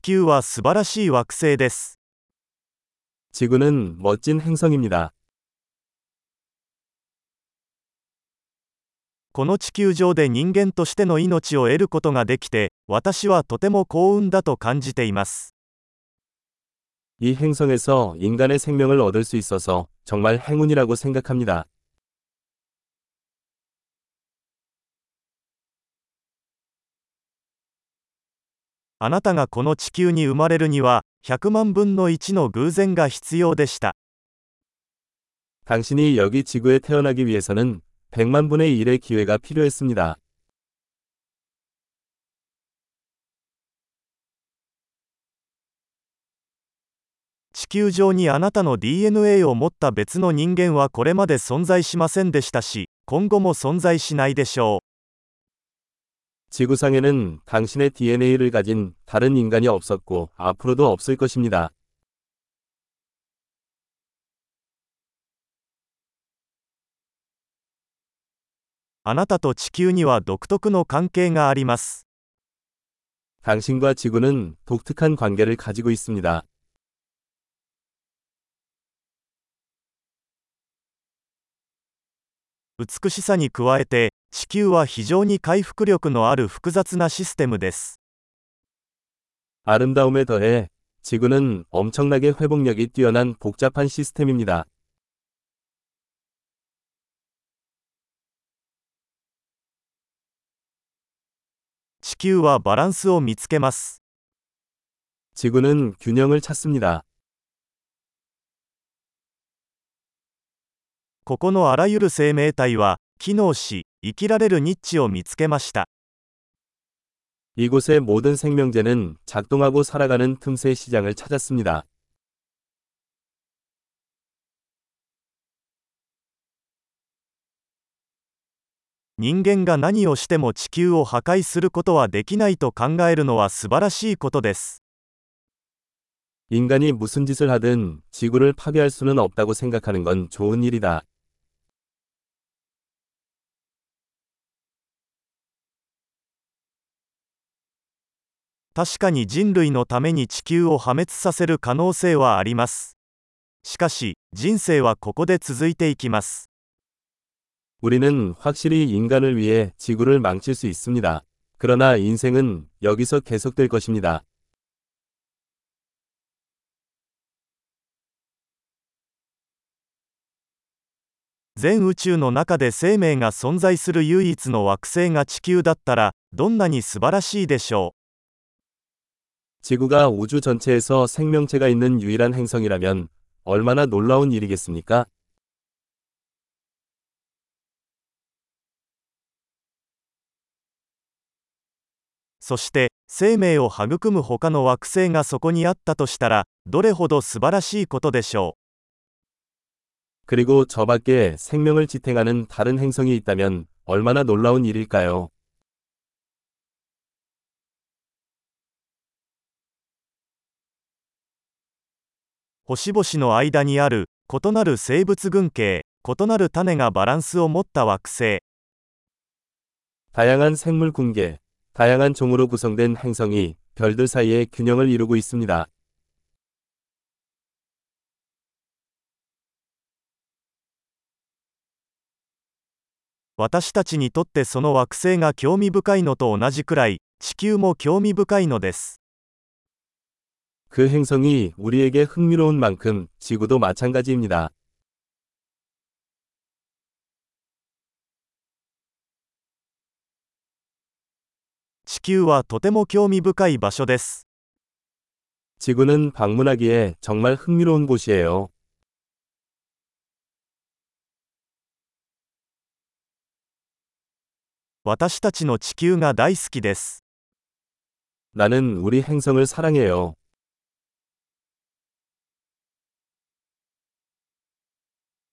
球は素晴らしい惑星です。 지구는 멋진 행성입니다. この地球上で人間としての命を得ることができて、私はとても幸運だと感じています。 이 행성에서 인간의 생명을 얻을 수 있어서 정말 행운이라고 생각합니다. あなたがこの地球に生まれるには、100万分の1の偶然が必要でした。 당신이 여기 지구에 태어나기 위해서는 100만 분의 1의 기회가 필요했습니다. 地球上にあなたの DNA を持った別の人間はこれまで存在しませんでしたし、今後も存在しないでしょう。 지구상에는 당신의 DNA를 가진 다른 인간이 없었고 앞으로도 없을 것입니다. あなたと地球には独特の関係があります。 당신과 지구는 독특한 관계를 가지고 있습니다. 美しさに加えて、地球は非常に回復力のある複雑なシステムです。 아름다움에 더해 지구는 엄청나게 회복력이 뛰어난 복잡한 시스템입니다. 地球はバランスを見つけます。 지구는 균형을 찾습니다. ここのあらゆる生命体は、機能し、生きられるニッチを見つけました。 이곳의 모든 생명체는 작동하고 살아가는 틈새 시장을 찾았습니다. 人間が何をしても地球を破壊することはできないと考えるのは素晴らしいことです。 인간이 무슨 짓을 하든 지구를 파괴할 수는 없다고 생각하는 건 좋은 일이다. 確かに人類のために地球を破滅させる可能性はあります。しかし、人生はここで続いていきます。 우리는 확실히 인간을 위해 지구를 망칠 수 있습니다. 그러나 인생은 여기서 계속될 것입니다. 全宇宙の中で生命が存在する唯一の惑星が地球だったら、どんなに素晴らしいでしょう。 지구가 우주 전체에서 생명체가 있는 유일한 행성이라면 얼마나 놀라운 일이겠습니까? そして、生命を育む他の惑星がそこにあったとしたら、どれほど素晴らしいことでしょう。 그리고 저 밖에 생명을 지탱하는 다른 행성이 있다면 얼마나 놀라운 일일까요? 星々の間にある異なる生物群系、異なる種がバランスを持った惑星。 다양한 생물 군계, 다양한 종으로 구성된 행성이 별들 사이에 균형을 이루고 있습니다. 私たちにとってその惑星が興味深いのと同じくらい、地球も興味深いのです。 그 행성이 우리에게 흥미로운 만큼 지구도 마찬가지입니다. 地球はとても興味深い場所です。 지구는 방문하기에 정말 흥미로운 곳이에요. 私たちの地球が大好きです。 나는 우리 행성을 사랑해요.